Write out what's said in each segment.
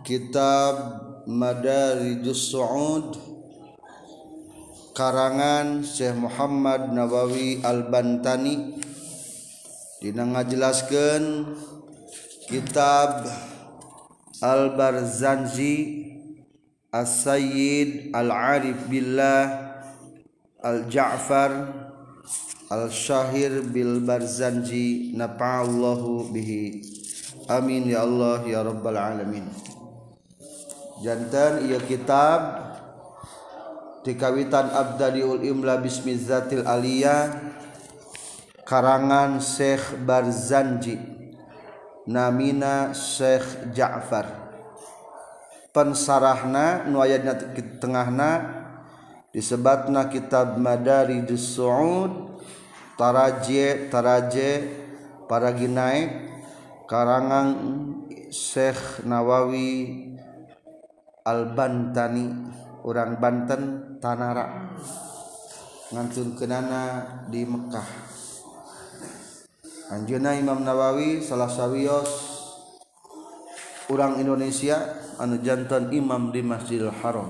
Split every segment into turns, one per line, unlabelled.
Kitab Madarijus Su'ud karangan Syekh Muhammad Nawawi Al-Bantani dina ngajelaskeun kitab Al-Barzanji As-Sayyid Al-Arif Billah Al-Ja'far Al-Syahir Bil Barzanji nafa'allahu bihi amin ya Allah ya rabbal alamin. Janten ieu kitab dikawitan Abdadiul Imla Bismizatil Aliyah karangan Syekh Barzanji namina Syekh Ja'far. Pensarahna nu aya dina tengahna disebatna kitab Madarijus Su'ud taraje paragi naik karangan Syekh Nawawi Al-Bantani urang Banten Tanara ngantunkeunana di Mekah. Anjeunna Imam Nawawi salah sawios urang Indonesia anu janten imam di Masjidil Haram.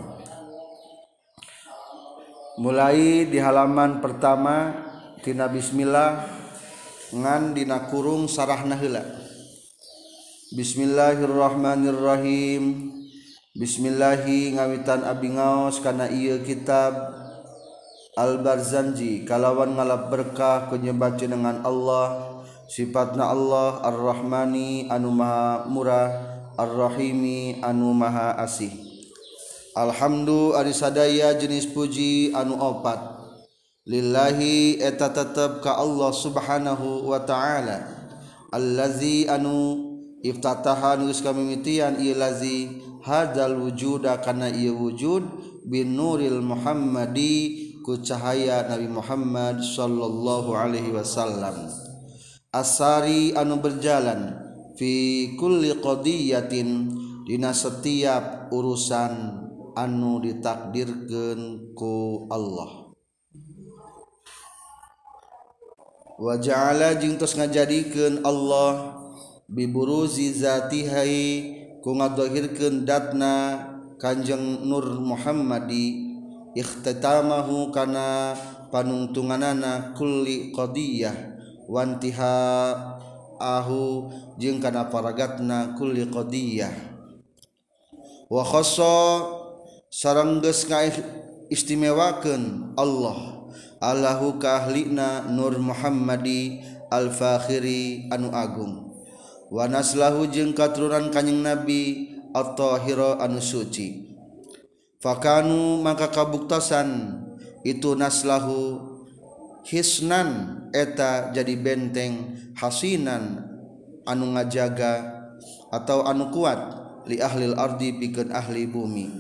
Mulai di halaman pertama tina bismillah ngan dina kurung sarahna heula. Bismillahirrahmanirrahim. Bismillahi ngawitan abdi ngaos kana ieu kitab Al-Barzanji kalawan ngalap berkah ku nyebat jenengan Allah, sifatna Allah Ar-Rahmani anu maha murah, Ar-Rahimi anu maha asih. Alhamdu ari sadaya jenis puji anu opat lillahi eta tetep ka Allah subhanahu wa ta'ala allazi anu iftataha geus kamimitian ieu lazi hadzal wujuda kana ieu wujud bin nuril Muhammadi ku cahaya Nabi Muhammad sallallahu alaihi wasallam asari anu berjalan fi kulli qadiyatin dina setiap urusan anu ditakdirkeun ku Allah. Wa ja'ala jeung tos ngajadikeun Allah biburuzi zatihai ku ngadahirkeun datna Kanjeng Nur Muhammadi ikhtitamahu kana panungtunganana kulli qadiyah wantiha ahu jeung kana paragatna kulli qadiyah wa khassa sareng geus ngaistimewakeun Allah Allahu ka ahlina Nur Muhammadi al-Fakhiri anu agung wa naslahu jeung katurunan Kanjeng Nabi at-Tahira anu suci. Fakanu maka kabuktasan itu naslahu hisnan eta jadi benteng hasinan anu ngajaga atau anu kuat li ahlil ardi pikeun ahli bumi.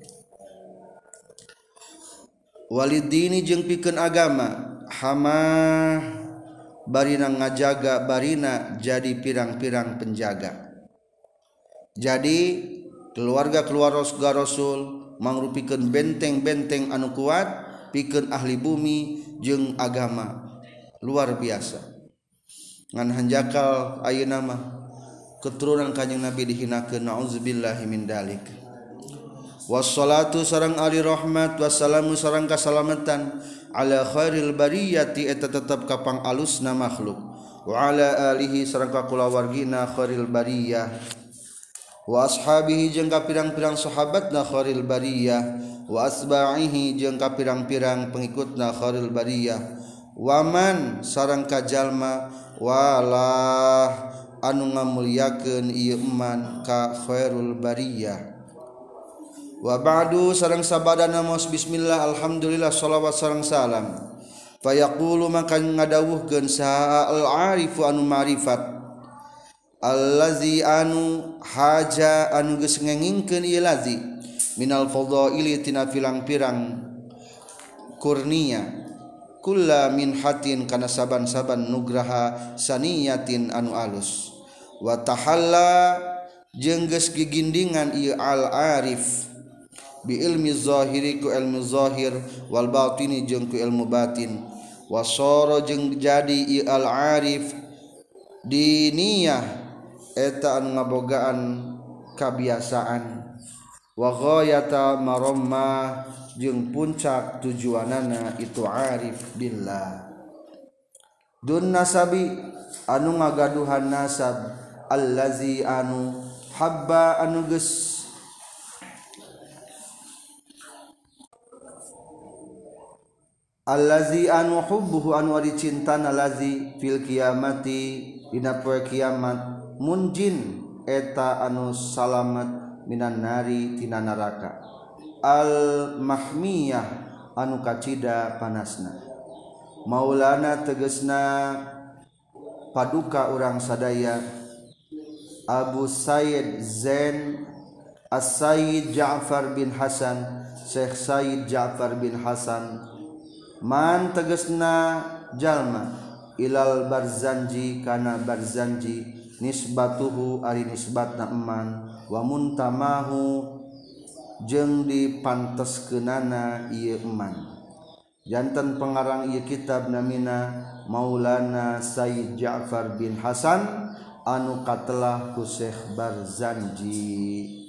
Walidini jeung pikeun agama hama barina ngajaga barina jadi pirang-pirang penjaga. Jadi keluarga Rasul mangrupikeun benteng-benteng anu kuat pikeun ahli bumi jeung agama luar biasa. Ngan hanjakal ayeuna mah keturunan Kanjeng Nabi dihinakeun nauzubillahi min dalik. Wassalatu sareng ali rahmat wassalamu sareng kasalamatan ala khairil bariyati eta tetep kapang alusna makhluk wa ala alihi sareng kulawargina khairil bariyah wa ashabihi jeung ka pirang-pirang sahabatna khairil bariyah wa asba'ihi jeung ka pirang-pirang pengikutna khairil bariyah wa man sareng ka jalma walah anu ngamulyakeun ieu iman ka khairul bariyah. Wa ba'du sareng sabadana mos bismillah alhamdulillah shalawat sareng salam fayaqulu maka ngadawuhkeun saha al-arifu anu ma'rifat allazi anu haja anu geus ngengingkeun ieu lazi minal fadaili tina pirang-pirang kurnia kulla min hatin kana saban-saban nugraha saniyatin anu alus wa tahalla jeung geus gigindingan ieu al-arif bi ilmi zahiri ku ilmu zahir wal batini jeung ku ilmu batin wasara jeung jadi al arif diniyah eta anu ngabogaan kabiasaan wa ghayata maromma jeung puncak tujuanana itu arif billah dun nasabi anu ngagaduhan nasab allazi anu habba anu geus allazi anu hubbuhu anu ari cintana lazi fil kiamati dina poe kiamat munjin eta anu salamet minan nari tina neraka al mahmiyah anu kacida panasna maulana tegesna paduka urang sadaya Abu Sayyid Zain As-Sayyid Ja'far bin Hasan Syekh Sayyid Ja'far bin Hasan man tegesna jalma ilal Barzanji kana Barzanji nisbatuhu ari nisbatna eman wa muntamahu jeung dipanteskeunana ieu eman janten pengarang ieu kitab namina Maulana Sayyid Ja'far bin Hasan anu katelah ku Syekh Barzanji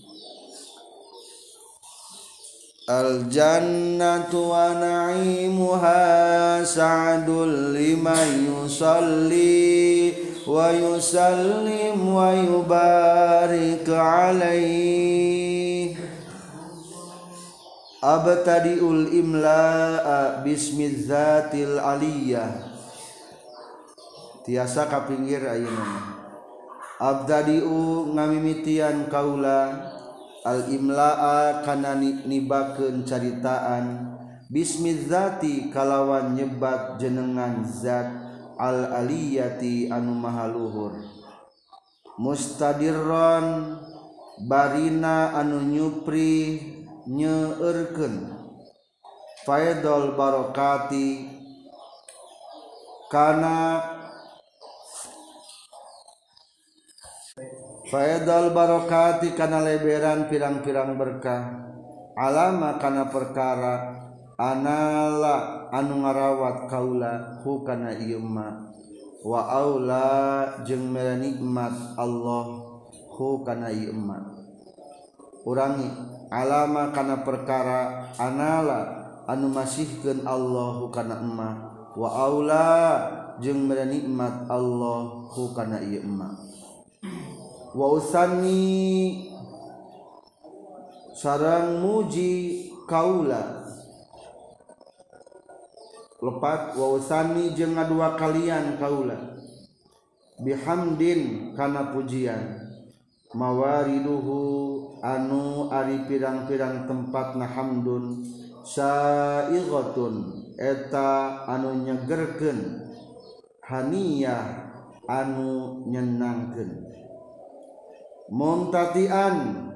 al jannatu wa na'imuha sa'dul liman yusalli wa yusallim wa yubarik alaih abtadiul imla'a bismidzatil aliyah tiasa kapinggir ayeuna abtadiu ngamimitian kaula al imla'a kana nibakeun caritaan bismidzati kalawan nyebat jenengan zat al aliyati anu maha luhur mustadirron barina anu nyupri nyeureurkeun faidul barokati kana faidul barokati kana leberan pirang-pirang berkah alama kana perkara anala anu ngarawat kaula hu kana ieu ma wa aula jeung mere nikmat Allah hu kana ieu ma urangi alama kana perkara anala anu masihkeun Allah hu kana emma wa aula jeung mere nikmat Allah hu kana ieu emma wa usanni sareng muji kaula lepat wa usani jeung ngadua kalian kaula bihamdin kana pujian mawariduhu anu ari pirang-pirang tempatna hamdun saighatun eta anu nyegerkeun haniyah anu nyenangkeun muntatian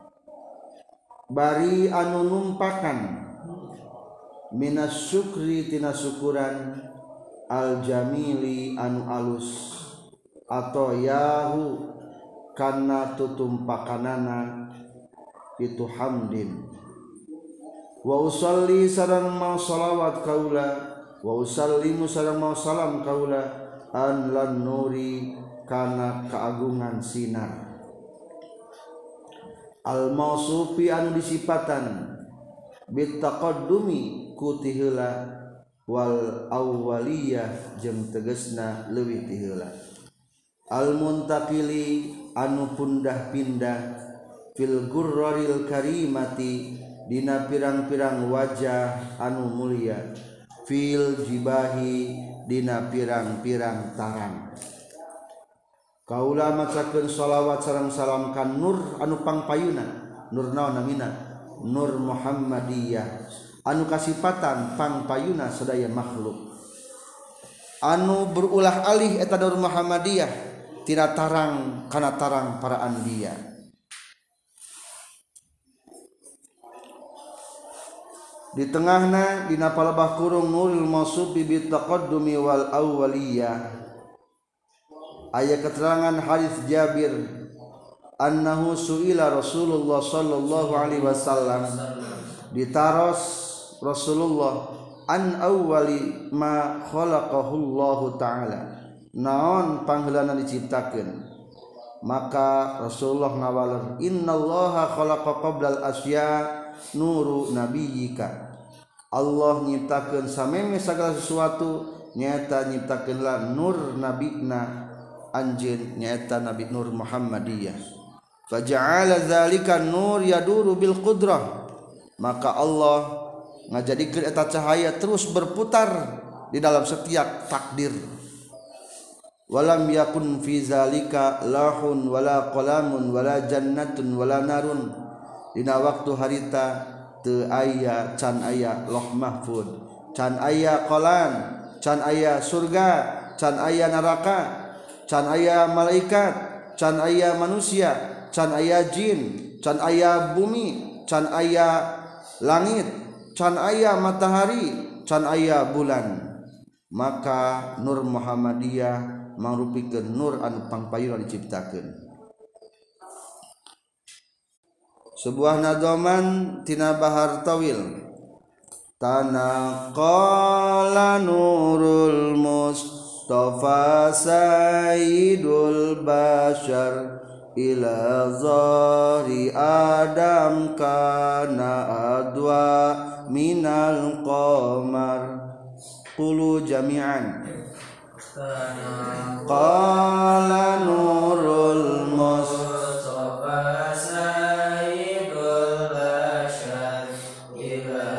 bari anu numpakan minas syukri tina syukuran al jamili anu alus atau yahu kana tutumpakanana itu hamdin wa usalli sareng mau salawat kaula wa usallimu sareng mau salam kaula an lan nuri kana keagungan sinar al mausufi anu disipatan bit taqaddumi ku ti heula wal awwaliyah jeung tegasna leuwih ti heula al muntaqili anu pundah-pindah fil gurraril karimati dina pirang-pirang wajah anu mulia fil jibahi dina pirang-pirang tarang kaula macakeun shalawat sareng salam ka nur anu pangpayuna nur naon namina nur Muhammadiyah anu kasipatan pangpayuna sadaya makhluk anu berulah alih eta nur Muhammadiyah tina tarang kana tarang para anbiya di tengahna dina palebah kurung nuril mausubi bit taqaddumi wal awwaliyah aya keterangan hadis Jabir annahu suila Rasulullah sallallahu alaihi wasallam ditaros Rasulullah an awwali ma khalaqahu Allah taala naon pangheulana diciptakeun maka Rasulullah ngawaler innallaha khalaqa qablal asya nuru nabiyyika Allah nyiptakeun sameme sagala sesuatu nyaeta nyiptakeunlah nur nabina anjeun nyaeta Nabi Nur Muhammadiyah faja'ala dzalika nur yaduru bil qudrah maka Allah ngajadikeun eta cahaya terus berputar di dalam setiap takdir walam yakun fi zalika lahun wala qalamun wala jannatun wala narun dina waktu harita teu aya can aya loh mahfud can aya qalam can aya surga can aya neraka can aya malaikat can aya manusia can aya jin can aya bumi can aya langit can aya matahari can aya bulan maka Nur Muhammadiyah mangrupikeun nur anu pangpayuna diciptakeun sebuah nadhaman tina Bahar Tawil tanaqala nurul mustafa sayyidul bashar ila zahri adam kana adwa minal qamar qulu jami'an qala nurul mustafa sayyidul bashar ila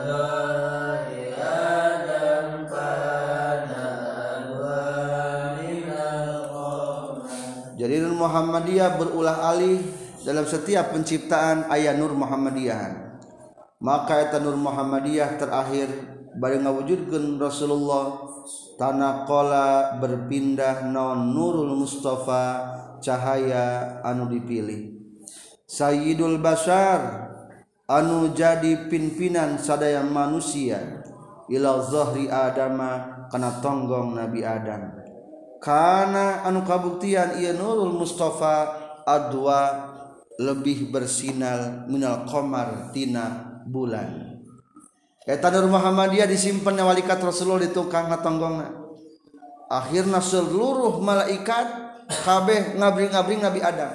dhari adam kana adwa minal qamar. Jadi Nur Muhammadiyah berulah alih dalam setiap penciptaan aya Nur Muhammadiyah maka eta Nur Muhammadiyah terakhir bari ngawujudkeun Rasulullah tanaqala berpindah non nurul mustafa cahaya anu dipilih sayyidul bashar anu jadi pimpinan sadaya manusia ila zahri adama kana tonggong Nabi Adam kana anu kabuktian ieu nurul mustafa adwa lebih bersinar minal qamar tina bulan eta Nur Muhammadiyah disimpen walikat Rasulullah di tukang ngatonggongna akhirna seluruh malaikat kabeh ngabring-ngabring Nabi Adam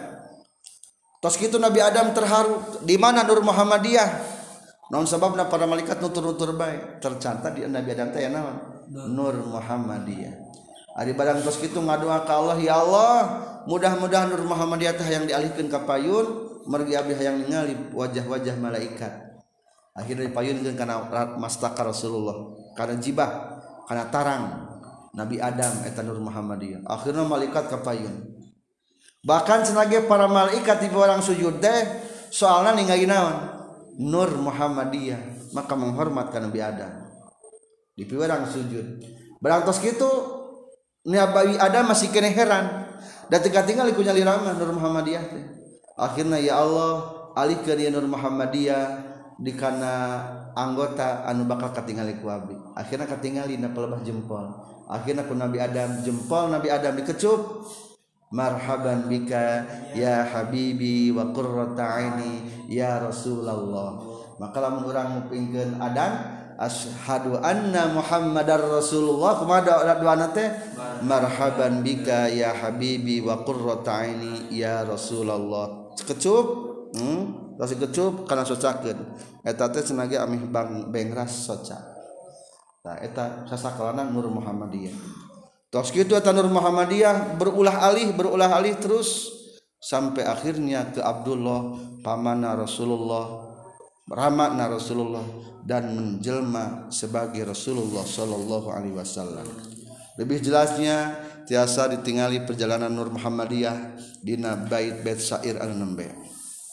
tos kitu Nabi Adam terharu di mana Nur Muhammadiyah naon sababna para malaikat nutur-nutur bae tercatat di Nabi Adam teh naon Nur Muhammadiyah ari barang tos kitu ngadoa ka Allah ya Allah mudah-mudahan Nur Muhammadiyah teh hayang dialihkeun ka payun mergi abdi hayang ningali wajah-wajah malaikat akhirnya dipayunkeun kana mastaka Rasulullah kana jibah kana tarang Nabi Adam eta Nur Muhammadiyah akhirnya malaikat kapayun bahkan senage para malaikat di orang sujud teh soalna ningali naon Nur Muhammadiyah maka menghormat ka Nabi Adam di orang sujud barang tos kitu Nabi Adam masih kene heran da teu katingal ku nyali ramah Nur Muhammadiyah teh akhirnya ya Allah alihkeun ieu Nur Muhammadiyah di kana anggota anu bakal katingali ku abdi akhirna katingali na pelebah jempol akhirna ku Nabi Adam jempol Nabi Adam dikecup marhaban bika ya habibi wa qurrata aini ya Rasulullah maka lamun urang ngupingkeun Adam asyhadu anna Muhammadar Rasulullah kumaha doana teh marhaban bika ya habibi wa qurrata aini ya Rasulullah kecup tos kecup kana socakeun eta teh senage amih bengras soca tah eta sasakalana Nur Muhammadiyah tos kitu eta Nur Muhammadiyah berulah alih terus sampai akhirnya ke Abdullah pamanna Rasulullah rahmatna Rasulullah dan menjelma sebagai Rasulullah sallallahu alaihi wasallam lebih jelasnya tiasa ditingali perjalanan Nur Muhammadiyah dina bait-bait syair anu nembe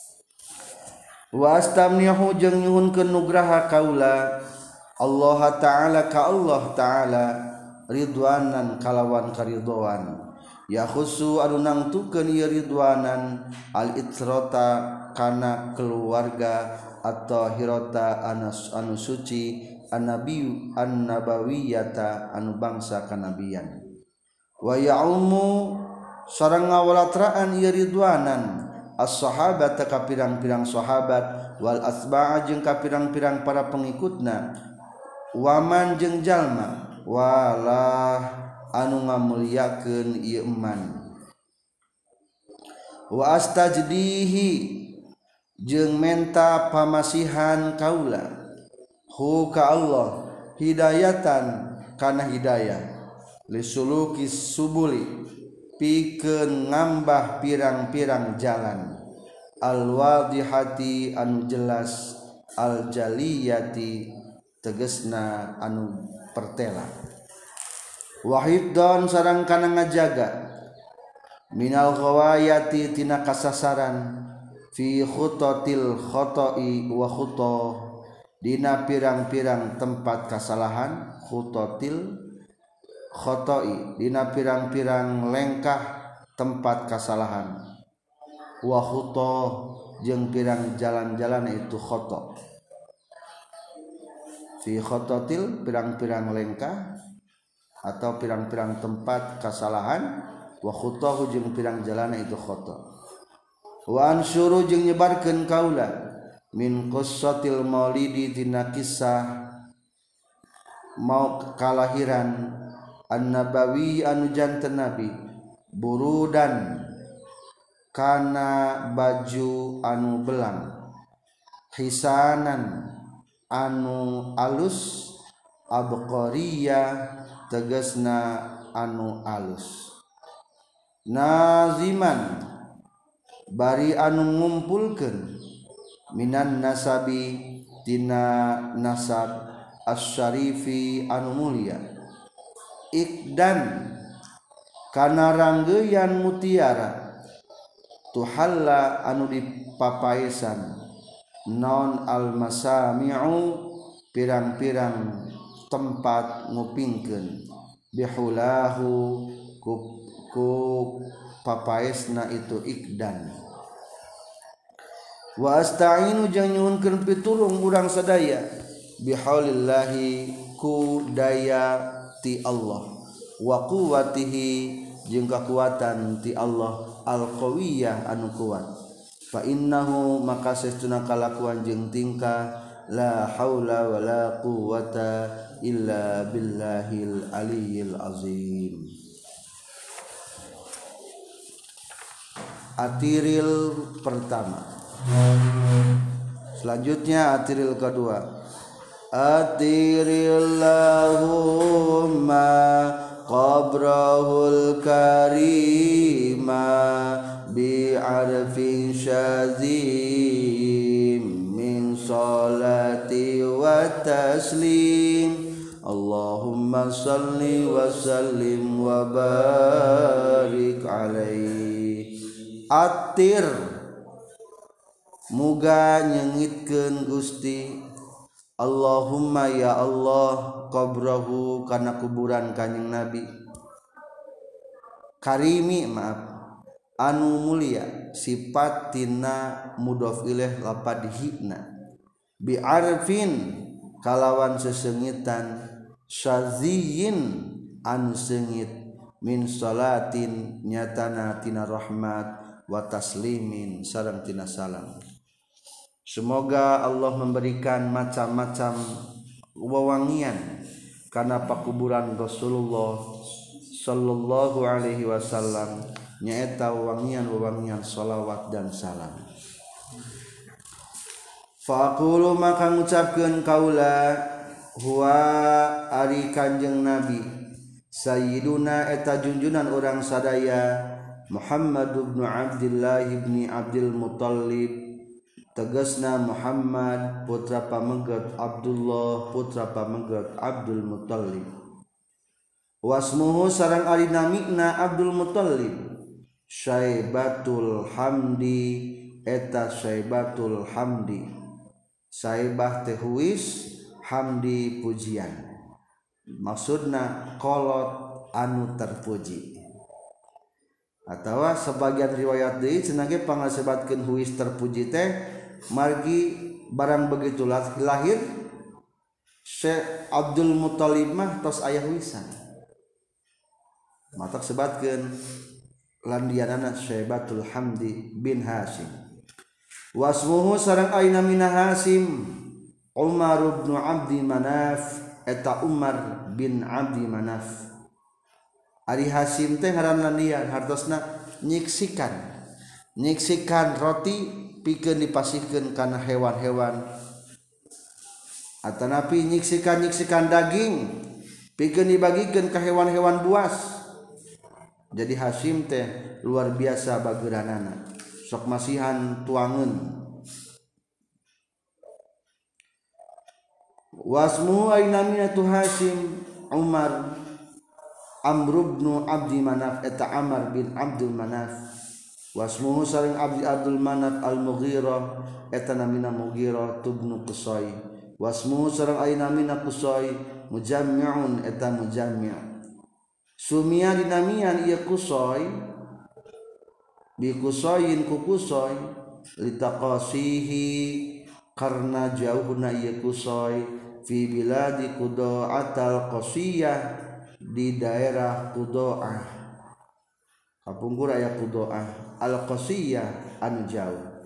wastamnihu jeung nyuhunkeun nugraha kaula Allah taala ka Allah taala ridwanan kalawan karidhoan ya khusu anu nangtukeun ieu ridwanan al itrata kana keluarga atau hirota anu suci an-nabawiyata anu bangsa kanabian wa ya'umu sareng ngawalatraan ieu ridwanan as-sahabat ka pirang-pirang sahabat wal asba'a jeung ka pirang-pirang para pengikutna waman jeung jalma walah anu ngamuliakeun ieu eman wa astajdihi jeung menta pamasihan kaula hu ka Allah hidayatan kana hidayah lisuluki subuli pikeun ngambah pirang-pirang jalan al-wadihati anu jelas al-jaliyati tegesna anu pertela wahidon sareng kana ngajaga minal ghawayati tina kasasaran fi khutatil khata'i wa khutah dina pirang-pirang tempat kasalahan khutatil khata'i dina pirang-pirang lengkah tempat kasalahan wa khutah jeung pirang jalan-jalan itu khata fi khatatil pirang-pirang lengkah atau pirang-pirang tempat kasalahan wa khutahu jeung pirang jalan itu khata wa ansyuru jeung nyebarkeun kaula min qissatil maulidi tina kisah mau kalahiran an-nabawi anu janten nabi burudan kana baju anu belang hisanan anu alus abqariyah tegasna anu alus naziman bari anu ngumpulkeun minan nasabi tina nasab asy-syarifi anu mulia ikdan kana ranggeyan mutiara tuhalla anu dipapaesan non al-masami'u pirang-pirang tempat ngupingkeun bihulahu ku papaesna itu ikdan wa asta'inu jeung nyuhunkeun pitulung urang sadaya bihaulillahi ku daya ti Allah wa quwwatihi jeung kakuatan ti Allah al-qawiyah anu kuat fa innahu maka sesuna kalakuan jeung tingkah la haula wala quwwata illa billahil aliyyil azim. Atiril pertama. Selanjutnya atiril kedua. Atirillahumma qabrahul karima bi'arfin syazim min salati wa taslim Allahumma salli wa sallim wa barik alaihi. Atir muga nyengitkeun Gusti Allahumma ya Allah qabrahu kana kuburan kanjing Nabi karimi maaf anu mulia sifat tina mudhof ilaih lapad hina bi arfin kalawan sesengitan syaziyin anu sengit min salatin nyatana tina rahmat wa taslimin sareng tina salam. Semoga Allah memberikan macam-macam wewangian karena pakuburan Rasulullah sallallahu alaihi wasallam nyaeta wewangian shalawat dan salam. Faqulu maka ngucapkeun kaula huwa ari kanjeng Nabi sayyiduna eta junjunan urang sadaya Muhammad ibn Abdullah ibn Abdul Muttalib tegasna Muhammad putra pamengget Abdullah putra pamengget Abdul Muttalib wasmuhu sareng ari namina Abdul Muttalib Syaibatul Hamdi eta Syaibatul Hamdi Saibah teh huis Hamdi pujian maksudna kolot anu terpuji atawa sebagian riwayat deui cenah ge pangasebatkeun huis terpuji teh margi barang begitu lahir Syekh Abdul Muttalib mah tos aya huisan matak sebatkeun landianana Syaibatul Hamdi bin Hashim wasmuhu sareng aina mina Hashim Umar bin Abdi Manaf eta Umar bin Abdi Manaf ari Hashim teh ngaranna lian hartosna nyiksikan nyiksikan roti pikeun dipasihkeun kana hewan-hewan atanapi nyiksikan daging pikeun dibagikeun ka hewan-hewan buas. Jadi Hasyim teh luar biasa bageuranana sok masihan tuangeun. Wasmu ainamina tu Hasyim Umar Amr bin Abdi Manaf eta Amr bin Abdul Manaf. Wasmuhu sareng Abdul Manaf Al-Mughirah eta namina Mughirah tubnu Qusay. Wasmuhu sareng ainamina Qusay Mujammi'un eta Mujammi'. Sumia dinamian ieu Qusay bi Qusayin ku Qusay litaqasihi karna jauhna ieu Qusay fi biladi Qudaatal Qasiyah di daerah Qudaah kapungkur aya Qudaah al-Qasiyah anu jauh.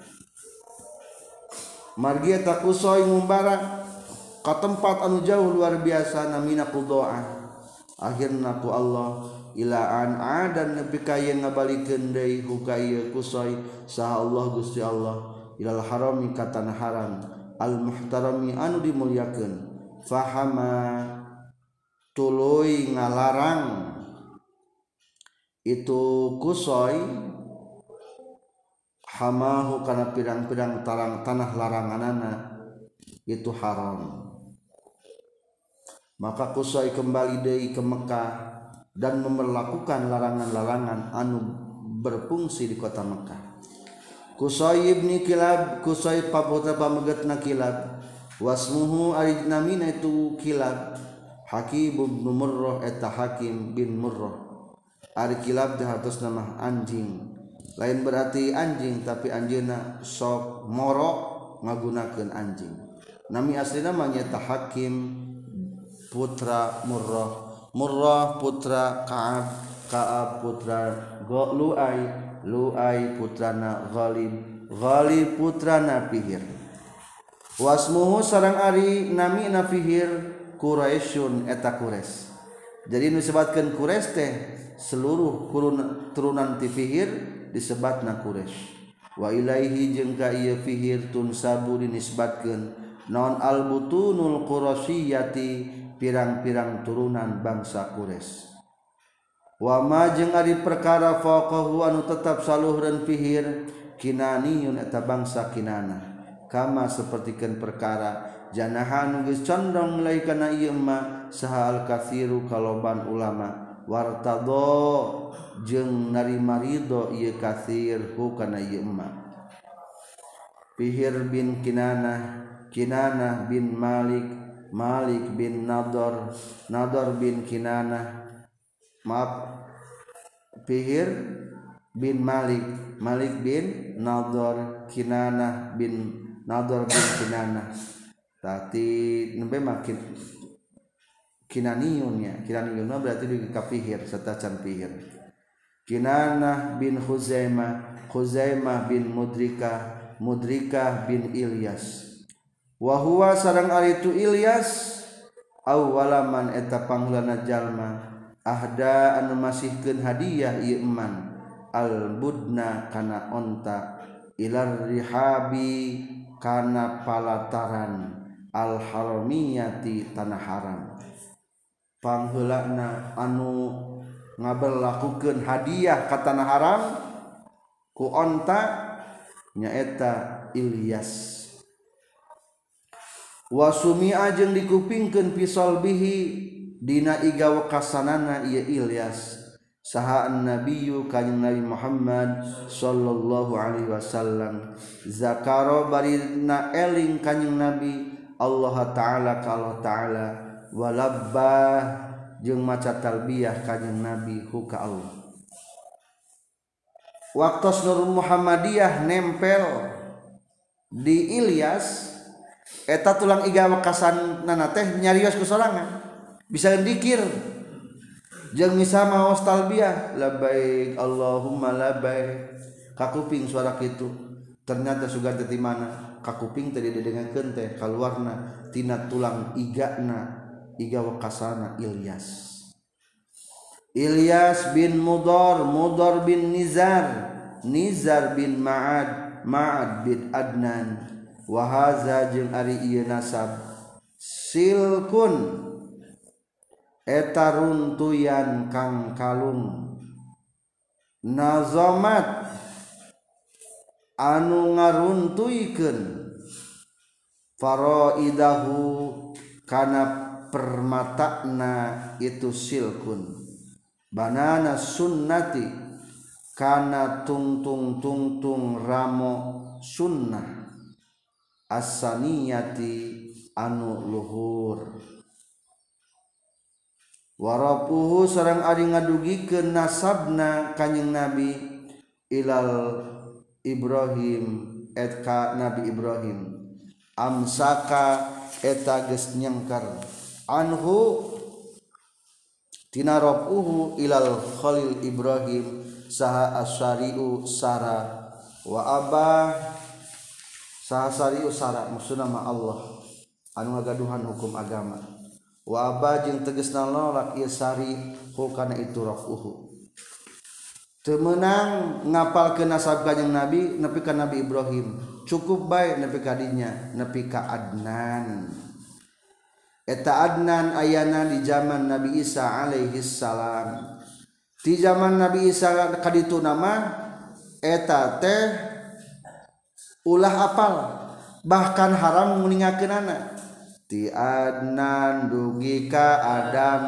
Margi eta Qusay ngumbara ka tempat anu jauh luar biasa namina Qudaah. Akhirna ku Allah ilaan adan nepi ka yen ngabalikeun deui ka ieu Qusay saha Allah Gusti Allah ilal harami ka tanah haram al muhtarami anu dimulyakeun. Fahama tuluy ngalarang itu Qusay hamahu kana pirang-pirang tanah laranganana itu haram. Maka Qusay kembali deui ke Mekah dan memperlakukan larangan-larangan anu berfungsi di kota Mekah. Qusay ibni Kilab Qusay paputra pamegetna Kilab. Wasmuhu ari namina itu Kilab Hakim bin Murrah eta Hakim bin Murrah. Ari Kilab teh hartos nama anjing. Lain berarti anjing tapi anjeunna sok moro ngagunakeun anjing. Nami aslina mah nyaeta Hakim putra Murrah, Murrah putra Ka'ab, Ka'ab putra Lu'ay, Lu'ay putrana Ghalib, Ghalib putrana Fihir. Wasmuhu sareng ari namina Fihir Quraisyun eta Quraisy. Jadi nu disebutkeun Quraisy teh seluruh turunan ti Fihir disebatna Quraisy. Wa ilaihi jeung ka ieu Fihir tunsabu dinisbatkeun naon al-butunul Quraisyati pirang-pirang turunan bangsa Quraisy. Wa ma jeung ari perkara faqahu anu tetap saluhreun Fihir Kinaniyun eta bangsa Kinana. Kama sapertikeun perkara janahan geus condong mulai kana ieu mah saha al-katsiru kaloban ulama wartado jeung narima ridho ieu katsir hu kana ieu mah. Fihir bin Kinanah, Kinanah bin Malik, Malik bin Nador, Nador bin Kinanah, maaf Fihir bin Malik, Malik bin Nador, Kinanah bin Nador bin Kinanah. Tadi nembe makin Kinaniyun ya, Kinaniyun berarti di Fihir serta can Fihir. Kinanah bin Khuzaimah, Khuzaimah bin Mudrikah, Mudrikah bin Ilyas. Wa huwa sareng ari tu Ilyas awwalaman eta panghulana jalma ahda anu masihkeun hadiah ieu eman al budna kana onta ilar rihabi kana palataran al haramiyati tanah haram. Pangheulana anu ngaberlakukeun hadiah ka tanah haram ku onta nyaeta Ilyas. Wasumi ajeng dikupingkeun pisol bihi dina iga wekasanana ieu Ilyas saha annabiyyu kanjing Nabi Muhammad sallallahu alaihi wasallam zakaro barina eling kanjing Nabi Allah taala ka Allah taala walabbah jeung maca talbiyah kanjing Nabi hu ka Allah. Waktos Nur Muhammadiyah nempel di Ilyas eta tulang iga wakasanana teh nyarios ku sorangan bisa dikir jeung misa maos talbiyah labbaik Allahumma labbaik kakuping suara kitu ternyata sugan teh di mana kakuping teh didengarkeun teh kaluarna tina tulang igana iga wakasana Ilyas. Ilyas bin Mudar, Mudar bin Nizar, Nizar bin Ma'ad bin Adnan wa haza jeung ari ieu nasab silkun eta runtuyan kang kalung nazamat anu ngaruntuykeun faraidahu kana permatana itu silkun banana sunnati kana tungtung ramo sunnah as-saniyati anu luhur warapuhu sareng ari ngadugikeun nasabna kanjing Nabi ilal Ibrahim ka Nabi Ibrahim amsaka eta geus nyengker anhu tina rafuhu ilal Khalil Ibrahim saha asyari'u sara wa abah saha syari'u sara maksudna ma Allah anu ngagaduhan hukum agama wa abah jeung tegasna nolak ieu sari kana itu rafuhu teu meunang ngapalkeun nasab kanjing Nabi nepi ka Nabi Ibrahim cukup bae nepi ka dinya nepi ka Adnan eta Adnan ayana di zaman Nabi Isa alaihi salam di zaman Nabi Isa kaditu nama eta teh ulah apal bahkan haram nguningakeunana ti Adnan dugi ka Adam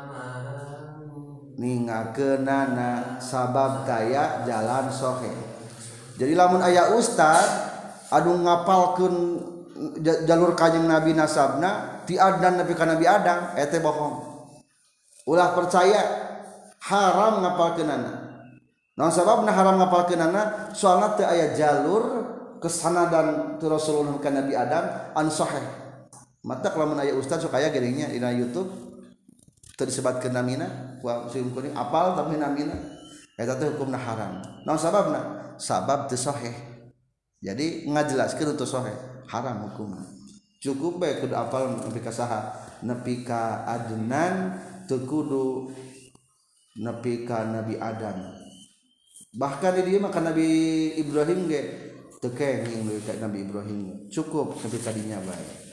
ningakeunana sabab daya jalan sohe jadi lamun aya ustad anu ngapalkeun jalur kanjing Nabi nasabna ti Adnan nepi ka Nabi Adam eta bohong ulah percaya haram ngapalkeunana naon sababna haram ngapalkeunana soalna teu aya jalur kesanadan ti Rasulullah ka Nabi Adam anu sahih mata lamun aya ustad sok aya geringnya dina YouTube teu disebatkeun namina ku sim kuning apal tapi namina eta teh hukumna haram naon sababna sabab teu sahih jadi ngajelaskeun teu sahih haram hukumna cukup bae kudu apal nepi ka saha nepi ka Adnan teu kudu nepi ka Nabi Adam bahkan di dieu mah ka Nabi Ibrahim ge teu kenging leuwih ka Nabi Ibrahim cukup nepi ka dinya bae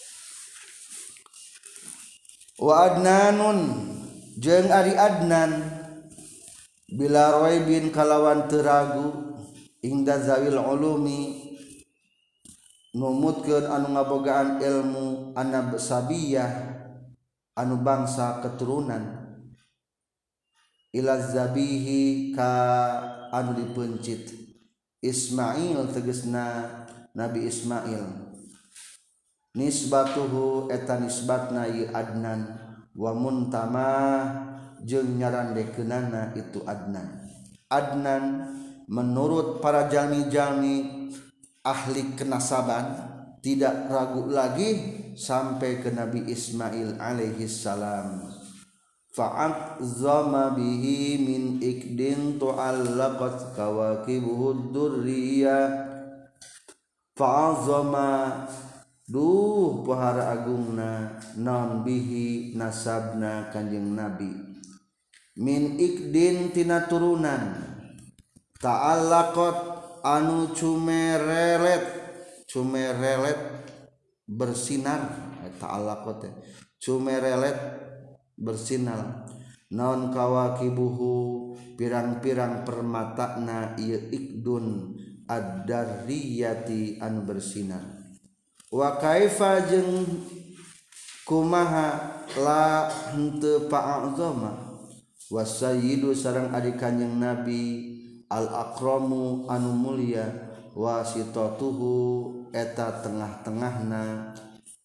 wa Adnanun jeung ari Adnan bila raibin kalawan teu ragu ingda zawil ulumi numutkeun anu ngabogaan ilmu anab sabiyah anu bangsa keturunan ila zabihi ka anu dipencit Ismail tegasna Nabi Ismail nisbatuhu eta nisbatna ieu Adnan wa muntamah jeung nyarandekeunana itu Adnan menurut para jalmi-jalmi ahli kenasaban tidak ragu lagi sampai ke Nabi Ismail alaihi salam fa'azzama bihi min ikdin tu'allaqat kawakibuhud durriyah fa'azzama duh pohara agungna naon bihi nasabna kanjing Nabi min ikdin tina turunan ta'allaqat anu cumerelet bersinar ta'allaqat cumerelet bersinar naon kawakibuhu pirang-pirang permatana ieu ikdun ad-darriyati anu bersinar wa kaifa jeung kumaha la henteu pa'azama wasayyidu sareng ari kanjing Nabi al akramu anu mulia wasitatuhu eta tengah-tengahna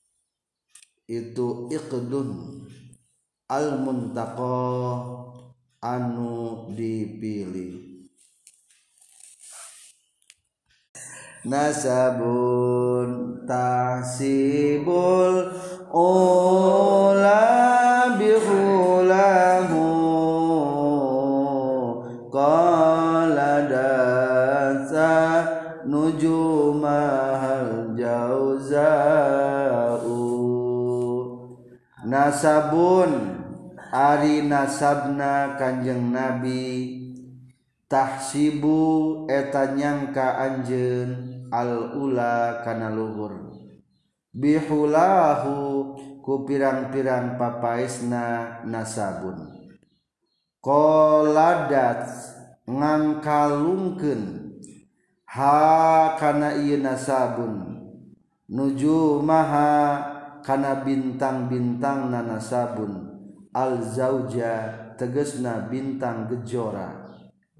itu iqdun al muntaqa anu dipilih nasabun tahsibul ula bihulahu qala dasa nujumahal jauza'u nasabun ari nasabna kanjeng Nabi tahsibu eta nyangka anjeun al ula kana luhur bihulahu ku pirang-pirang papaesna nasabun qoladat ngangkalungkeun ha kana ieu nasabun nujumaha kana bintang-bintang nasabun al zauja tegesna bintang gejora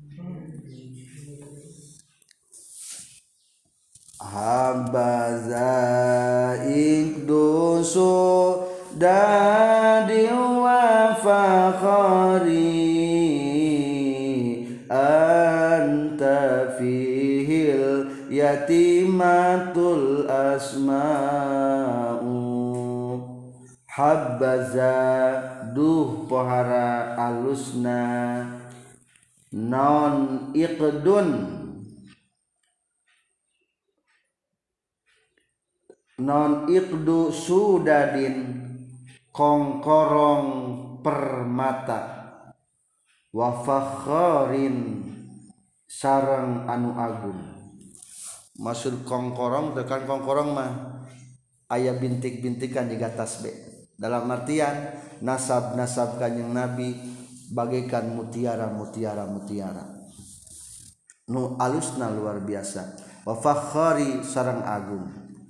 habaza ikdusu dadi wa fakhari anta fihil yatimatul asma'u habbaza duh pohara alusna non iqdu sudadin kongkorong permata wa fakharin sareng anu agung maksud kongkorong tekan kongkorong mah aya bintik-bintikan di atas be dalam artian nasab-nasab kanjing Nabi bagaikan mutiara nu alusna luar biasa wa fakhari sareng agung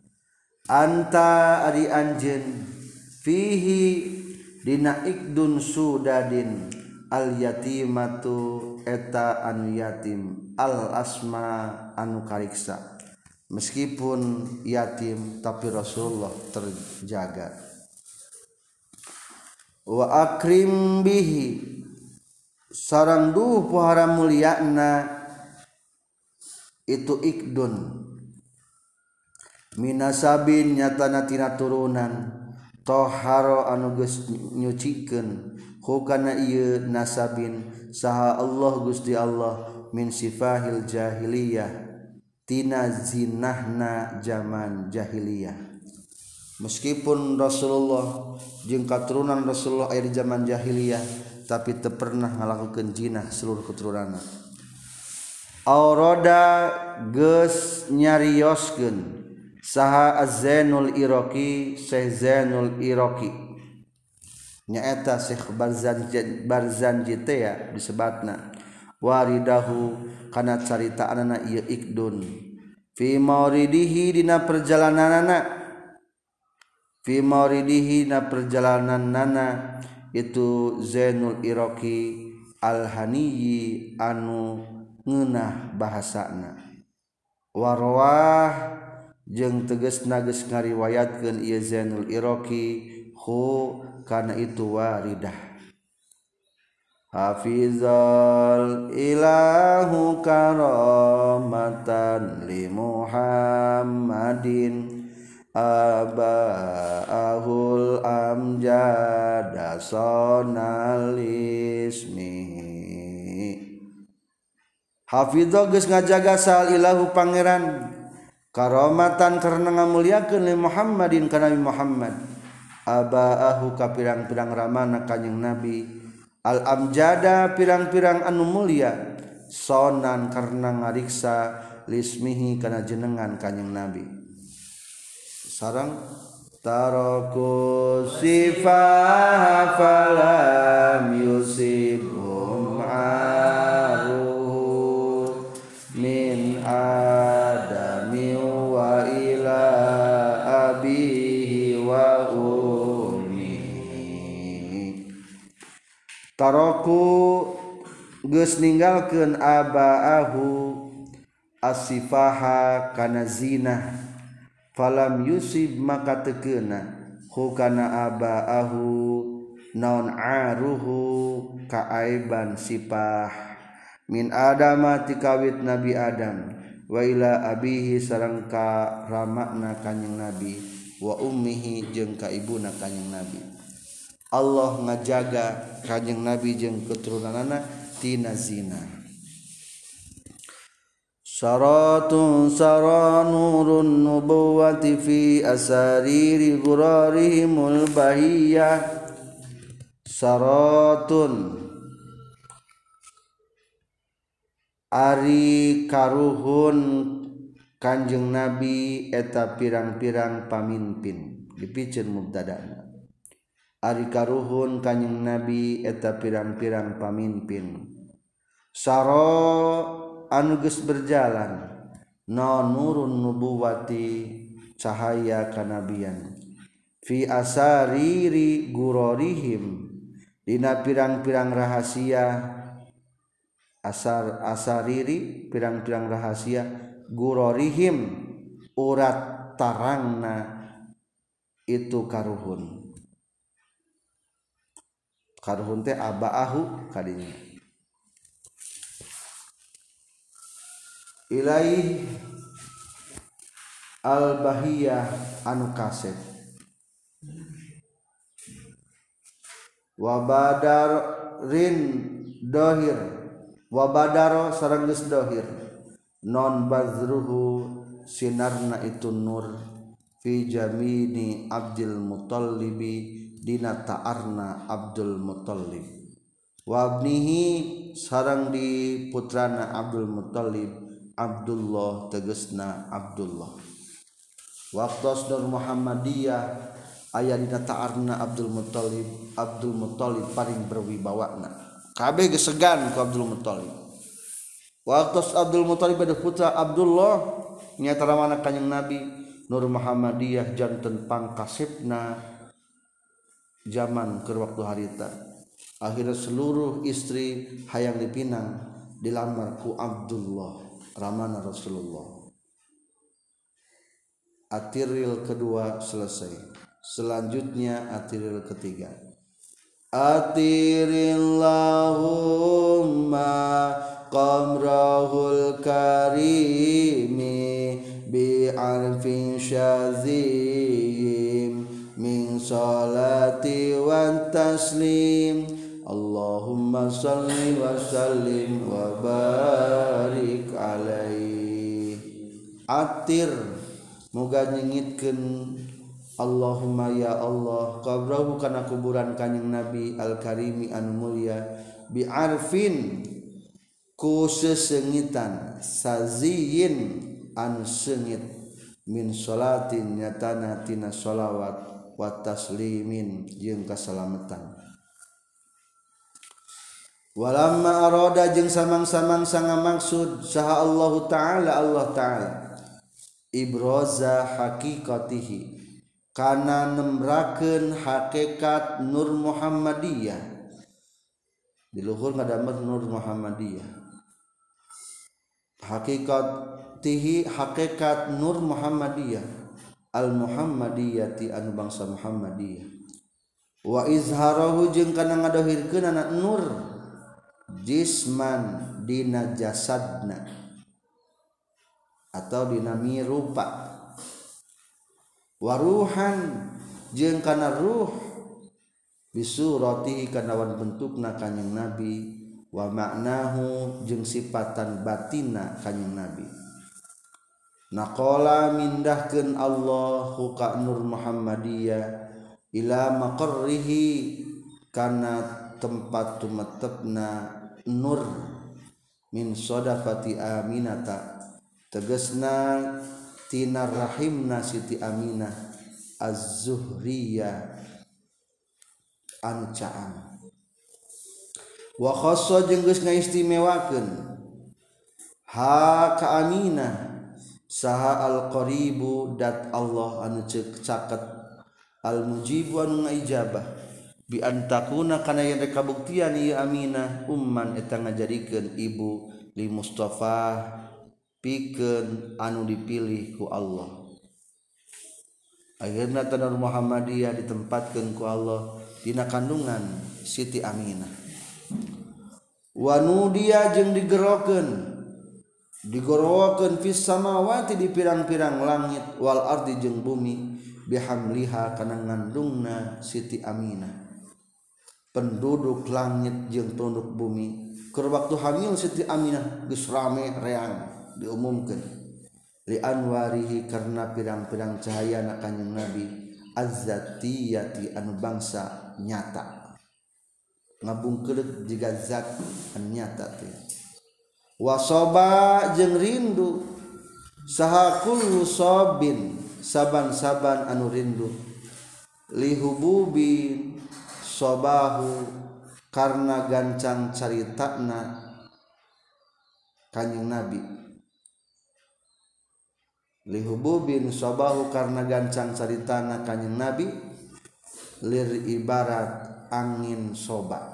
anta ari anjeun fihi dina ikdun sudadin al yatimatu eta anu yatim al asma anu kariksa meskipun yatim tapi Rasulullah terjaga wa akrim bihi sareng duh pohara mulyana itu ikdun minasabin nyatana tina turunan toharo anu geus nyucikeun hukana ieu nasabin saha Allah Gusti Allah min sifahil jahiliyah tina zinahna zaman jahiliyah meskipun Rasulullah jeung katurunan Rasulullah aya di zaman jahiliyah tapi teu pernah ngalakukeun jinah seluruh keturunanna aurada geus nyarioskeun saha Az-Zainul Iraqi Syekh Zainul Iraqi nyaeta Syekh Barzanji teh ya disebatna waridahu kana caritaanana ieu ikdun fi mauridihi dina perjalananana itu Zainul Iraqi al-Haniyyi anu ngeunah bahasana warwah jeung tegasna geus ngariwayatkeun ieu Zainul Iraqi hu kana itu waridah hafizal ilahu karamatan li Muhammadin abaahul amjada sonal ismi hafizal geus ngajaga sal ilahu pangeran karamatan karena ngamuliakeun li Muhammadin kana Nabi Muhammad abaahu ka pirang-pirang ramana kanjing Nabi al amjada pirang-pirang anu mulia sonan karena ngariksa lismihi kana jenengan kanjing Nabi sareng taraku sifah falam yusibhum aru min adami wa ila abihi wa ummi taraku geus ninggalkeun abaahu asifaha kana zina falam yusib maka tekeuna hukana abaahu naon aruhu kaaiban sipah min adama tikawit Nabi Adam wa ila abihi sareng ka ramakna kanjing Nabi wa ummihi jeung ka ibuna kanjing Nabi Allah ngajaga kanjing Nabi jeung keturunanna tina zina syaratun saranurun nubuwati fi asariri ghurarihimul bahiyah syaratun Ari karuhun Kanjeng Nabi eta pirang-pirang pamimpin dipikeun mubtadana. Ari karuhun Kanjeng Nabi eta pirang-pirang pamimpin saro anu geus berjalan no nurun nubuwati cahaya kanabian fi asariri gurorihim dina pirang-pirang rahasia asariri pirang-pirang rahasia gurorihim urat tarangna itu karuhun teh abaahu kadinya ilaih al bahiyah anu kasep wa badarin dohir wa badaro sareng geus dohir non bazruhu sinarna itu nur fi jamini Abdul Muttallibi dina ta'arna Abdul Muttalib wa abnihi sareng di putrana Abdul Muttalib Abdullah tegesna Abdullah waqtos Nur Muhammadiyah aya dina ta'arna Abdul Muttalib paling berwibawana kabeh geus segan ku Abdul Muttalib. Waktu Abdul Muttalib ada putra Abdullah nyata ramana Kanjeng Nabi Nur Muhammadiyah janten pangkasipna zaman keur waktu harita. Akhirnya seluruh istri hayang dipinang dilamar ku Abdullah ramana Rasulullah. Atiril kedua selesai. Selanjutnya atiril ketiga. Atirillahumma qamrahul karimi bi'arfin syazim min salati wa taslim Allahumma salli wa sallim wa barik alaihi. Atir muga nyengitkeun Allahumma ya Allah qabrahu kana kuburan Kanjeng Nabi al-Karimi anu mulia bi arfin ku sesengitan saziyin anu sengit min salatin nyatana tina sholawat wa taslimin jeung kasalamatan walamma arada jeung samang-samang sanga maksud saha Allah Ta'ala ibraza haqiqatihi kana nembrakeun hakikat Nur Muhammadiyah di luhur ngadamel Nur Muhammadiyah hakikat Nur Muhammadiyah al Muhammadiyati anu bangsa Muhammadiyah wa izharahu jeung kana ngadohirkeun anak nur jisman dina jasadna atau dina mirupa waruhan jeung kana ruh bisuratihi kana wan bentukna Kanjeng Nabi wa maknahu jeung sifatan batinna Kanjeng Nabi naqala mindahkeun Allahu ka Nur Muhammadiyah ila maqarrihi kana tempat tumetepna nur min sodafati aminata tegasna tina rahimna Siti Aminah az-Zuhriyah anu caang wa khassa jeung geus ngaistimewakeun ha ka Aminah saha al-qaribu dat Allah anu ceuk caket al-mujibu anu ngaijabah bi antakuna kana yen kabuktian ieu Aminah umman eta ngajadikeun ibu li Mustafa pikeun anu dipilih ku Allah. Akhirna Nur Muhammadiyah ditempatkeun ku Allah dina kandungan Siti Aminah. Wa nudiya jeung digorokeun fis samawati di pirang-pirang langit wal ardi jeung bumi bihamliha kana ngandungna Siti Aminah. Penduduk langit jeung penduduk bumi keur waktu hamil Siti Aminah geus rame reang diumumkan li anwarihi karena pirang-pirang cahaya na Kanjeng Nabi azzatiyati anu bangsa nyata ngabungkeut jiga zat anu nyata teh wasoba jeung rindu saha kullu sobin saban-saban anu rindu lihububin sobahu karena gancang caritana Kanjeng Nabi lihububin sobahu karena gancang caritana Kanjeng Nabi lir ibarat angin soba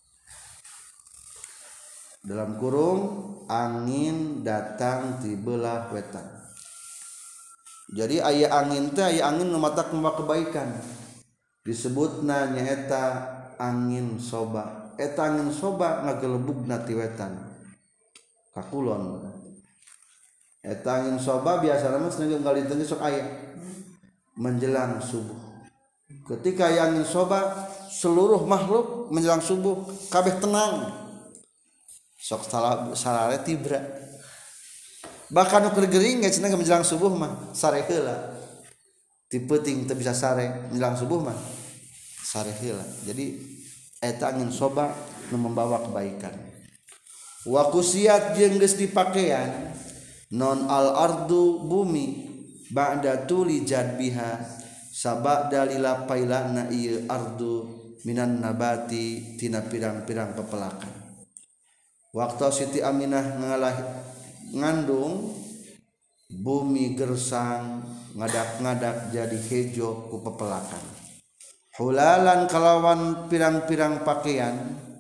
dalam kurung angin datang di belah wetan. Jadi aya angin teh aya angin nu matak membawa kebaikan disebutna nyaeta angin soba. Eta angin soba ngagelebugna ti wetan ka kulon. Eta angin soba biasana mah seneng kali teu sok aya menjelang subuh. Ketika aya angin soba seluruh makhluk menjelang subuh kabeh tenang. Sok salare tibra bahkan nu keur gering geus cenah menjelang subuh mah sare heula ti peuting teu bisa sare menjelang subuh mah sare heula. Jadi eta angin soba nu membawa kebaikan. Wa kusiyat jeung geus dipakean non al ardu bumi ba'da tuli jadbiha sabada lila pailana ieu ardu minan nabati tina pirang-pirang pepelakan. Waktu Siti Aminah ngandung bumi gersang ngadak-ngadak jadi hejo ku pepelakan. Hulalan kalawan pirang-pirang pakaian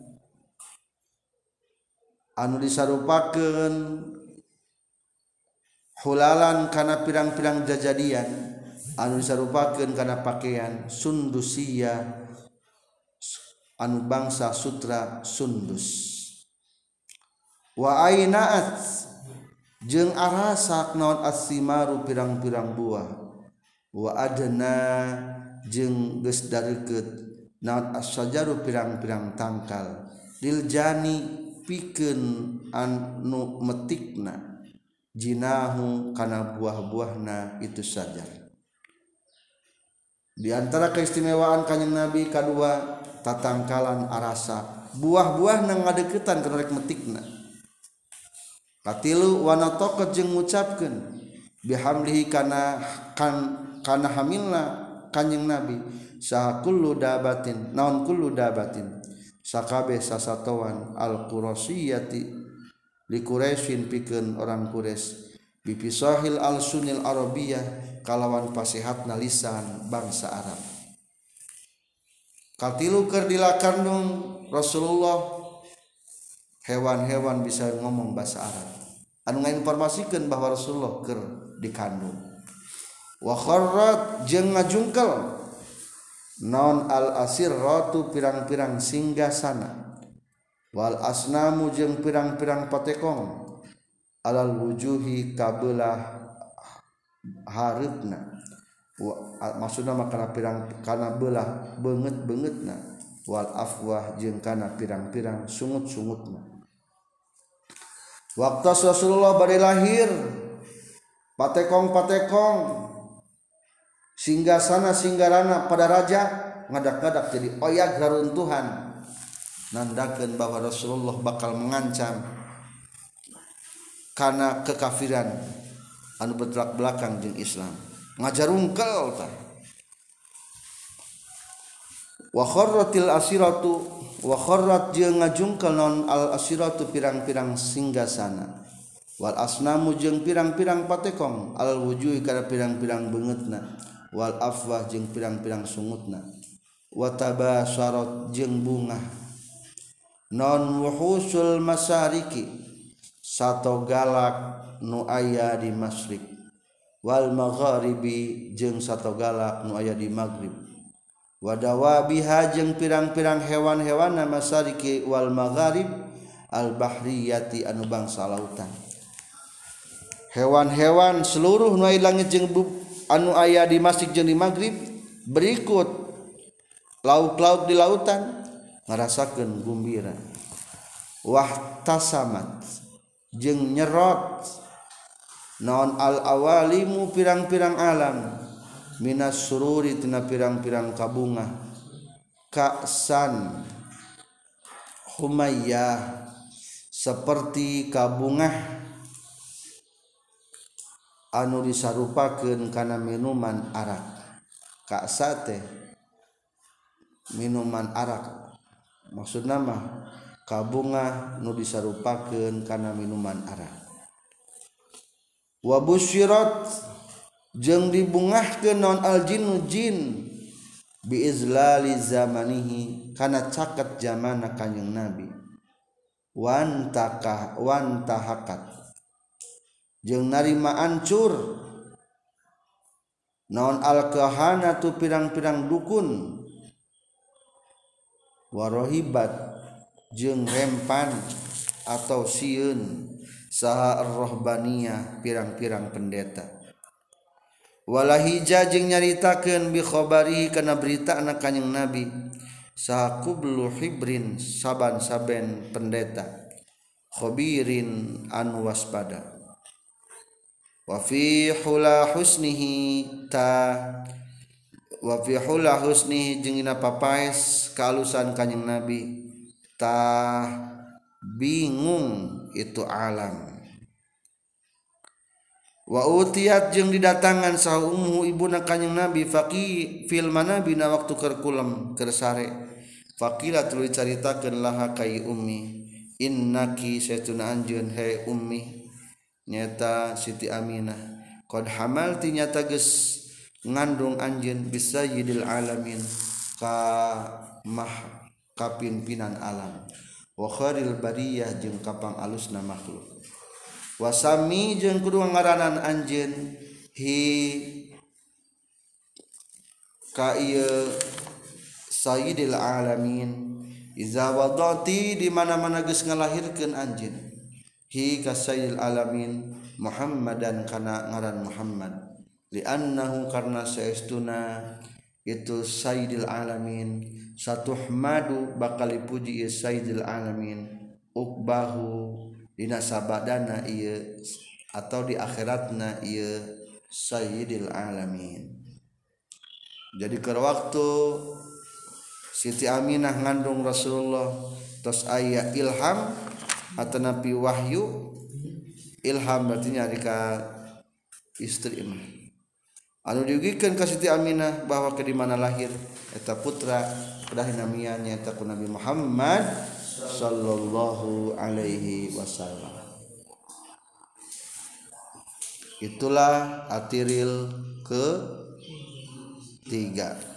anu disarupakeun hulalan kana pirang-pirang jajadian anu disarupakeun kana pakaian sundusia anu bangsa sutra sundus. Wa ainaat jeung arasak naon asimaru pirang-pirang buah wa adna jeung geus dareukeut naon asyajaru pirang-pirang tangkal lil jani pikeun anu metikna jinahu kana buah-buahna itu sajar. Di antara keistimewaan Kanjeng Nabi kadua tatangkalan arasak buah-buahna ngadeuketan kana rek metikna. Katilu wana tokot jeung ngucapkeun bihamlihi kana hamilna Kanjeng Nabi saha kullu dabatin naon kullu dabatin sakabeh sasatoan al qurasiyati li Quraisyin pikeun orang Quraisy bi fisahil al sunil arabiyah kalawan pasihatna lisan bangsa Arab. Katilu keur dilakandung Rasulullah hewan-hewan bisa ngomong bahasa Arab anu ngainformasikeun bahwa Rasulullah keur dikandung. Wa kharrat jeung ngajungkel naon al asirratu pirang-pirang singgasana wal asnamu jeung pirang-pirang patekong alal wujuhi kabelah hareupna maksudna makana pirang kana belah beungeut-beungeutna wal afwah jeung kana pirang-pirang sungut-sungutna. Waktu Rasulullah bari lahir patekong-patekong singgasana singgarana pada raja ngadak-ngadak jadi oyag raruntuhan nandakeun bahwa Rasulullah bakal mengancam kana kekafiran anu bertolak belakang jeung Islam ngajarungkel tah. Wa kharratil asiratu wa kharrat jeung ngajungkel non al asiratu pirang-pirang singgasana wal asnamu jeung pirang-pirang patekong al wujuhi kana pirang-pirang beungeutna wal afwah jeung pirang-pirang sungutna wa tabasyarat jeung bungah non wuhusul masariki sato galak nu aya di masyriq wal magharibi jeung sato galak nu aya di maghrib wadawabiha jeung pirang-pirang hewan-hewanna masariki wal magharib al bahriyati anu bangsa lautan. Hewan-hewan seluruh nu aya langit jeung anu aya di masyriq jeung di maghrib berikut lauk-lauk di lautan ngarasakeun gumbira. Wahtasamat jeung nyerot naon al awalimu pirang-pirang alam minas sururi tina pirang-pirang kabunga ka'san humayyah seperti kabungah anu disarupakeun kana minuman arak. Ka'sa teh minuman arak, maksudna mah kabungah nu disarupakeun kana minuman arak. Wa busyirat jeung dibungahkeun naon aljinnu jin bi izlali zamanihi kana caket zamana Kanjeng Nabi. Wan tahakat jeung narima ancur naon al-kahanatu pirang-pirang dukun. Warohibat jeung rempan atau sieun saha ar-rahbaniyah pirang-pirang pendeta. Walahija jeung nyaritakeun bi khabari kana berita anak Kanjeng Nabi saha kublu hibrin saban-saben pendeta khabirin anu waspada. Wa fi hula husnihi jeung dina papaes kalusan Kanjeng Nabi bingung itu alam. Wa utiyat jeung didatangan saha ummu ibuna Kanjeng Nabi fil manabi na waktu keur kulem keur sare. Faqila tuluy caritakeun laha kai ummi innaki saytuna anjeun he ummi nyata Siti Aminah qad hamalti nyata geus ngandung anjeun bisayyidil alamin ka pimpinan alam wa khairil bariyah jeung kapang alusna makhluk. Wasami jeung kudu ngaranan anjeun hi ka ieu sayyidil alamin iza wadati di mana-mana geus ngalahirkeun anjeun hi ka sayyidil alamin Muhammadan kana ngaran Muhammad li'annahu karna saestuna itu sayyidil alamin satuhmadu bakal dipuji ieu sayyidil alamin ukbahu dina sabadana ieu atau di akhiratna ieu sayyidil alamin. Jadi keur waktu Siti Aminah ngandung Rasulullah tos aya ilham atau nabi wahyu. Ilham berarti nyari ka istri mah anu diugikeun ka Siti Aminah bahwa ke di mana lahir eta putra kedah namian nyaeta ku Nabi Muhammad sallallahu alaihi wasallam. Itulah atiril ke 3.